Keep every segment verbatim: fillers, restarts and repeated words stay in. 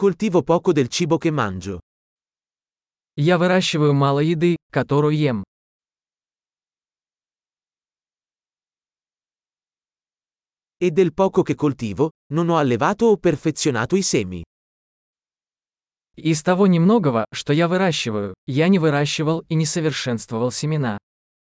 coltivo poco del cibo che mangio. Я выращиваю мало еды, которую ем. E del poco che coltivo, non ho allevato o perfezionato i semi. Из того немногого, что я выращиваю, я не выращивал и не совершенствовал семена.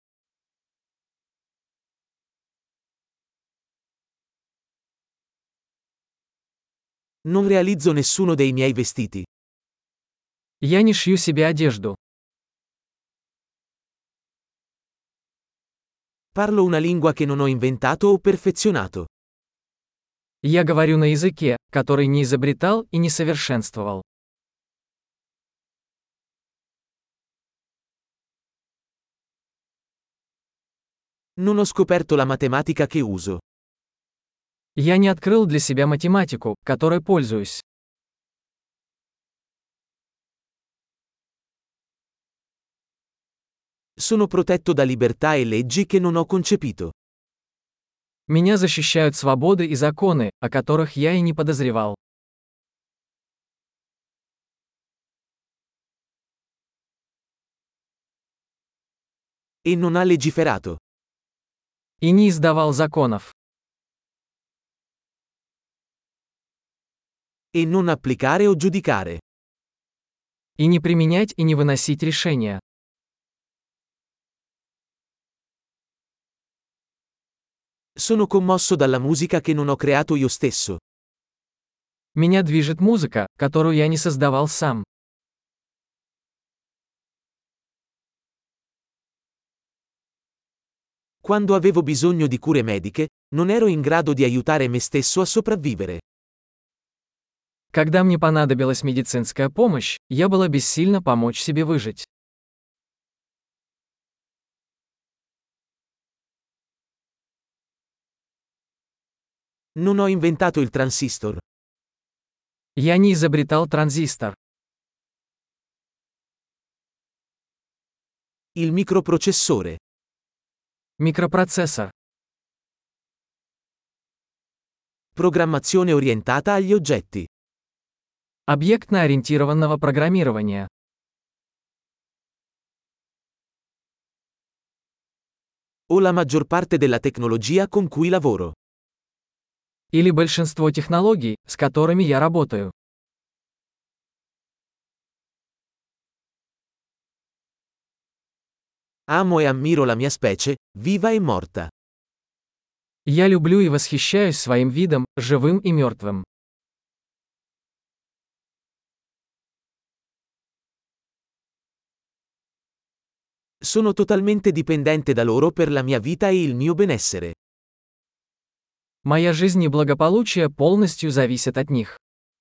Non realizzo nessuno dei miei vestiti. Я не шью себе одежду. Parlo una lingua che non ho inventato o perfezionato. Я говорю на языке, который не изобретал и не совершенствовал. Non ho scoperto la matematica che uso. Я не открыл для себя математику, которой пользуюсь. Sono protetto da libertà e leggi che non ho concepito. Меня защищают свободы и законы, о которых я и не подозревал. E non ha legiferato. И не издавал законов. E non applicare o giudicare. И не применять и не выносить решения. Sono commosso dalla musica che non ho creato io stesso. Меня движет музыка, которую я не создавал сам. Quando avevo bisogno di cure mediche, non ero in grado di aiutare me stesso a sopravvivere. Когда мне понадобилась медицинская помощь, я была бессильна помочь себе выжить. Non ho inventato il transistor. Я не изобретал транзистор. Il microprocessore. Микропроцессор. Programmazione orientata agli oggetti. Объектно-ориентированного программирования. O la maggior parte della tecnologia con cui lavoro. Или большинство технологий, с которыми я работаю. Amo e ammiro la mia specie, viva e morta. Я люблю и восхищаюсь своим видом, живым и мертвым. Sono totalmente dipendente da loro per la mia vita e il mio benessere. Моя жизнь и благополучие полностью зависят от них.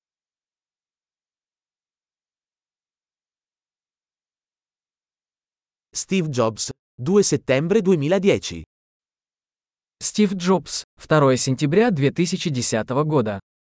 Steve Jobs, due settembre duemiladieci. Стив Джобс, второе сентября две тысячи десятого года.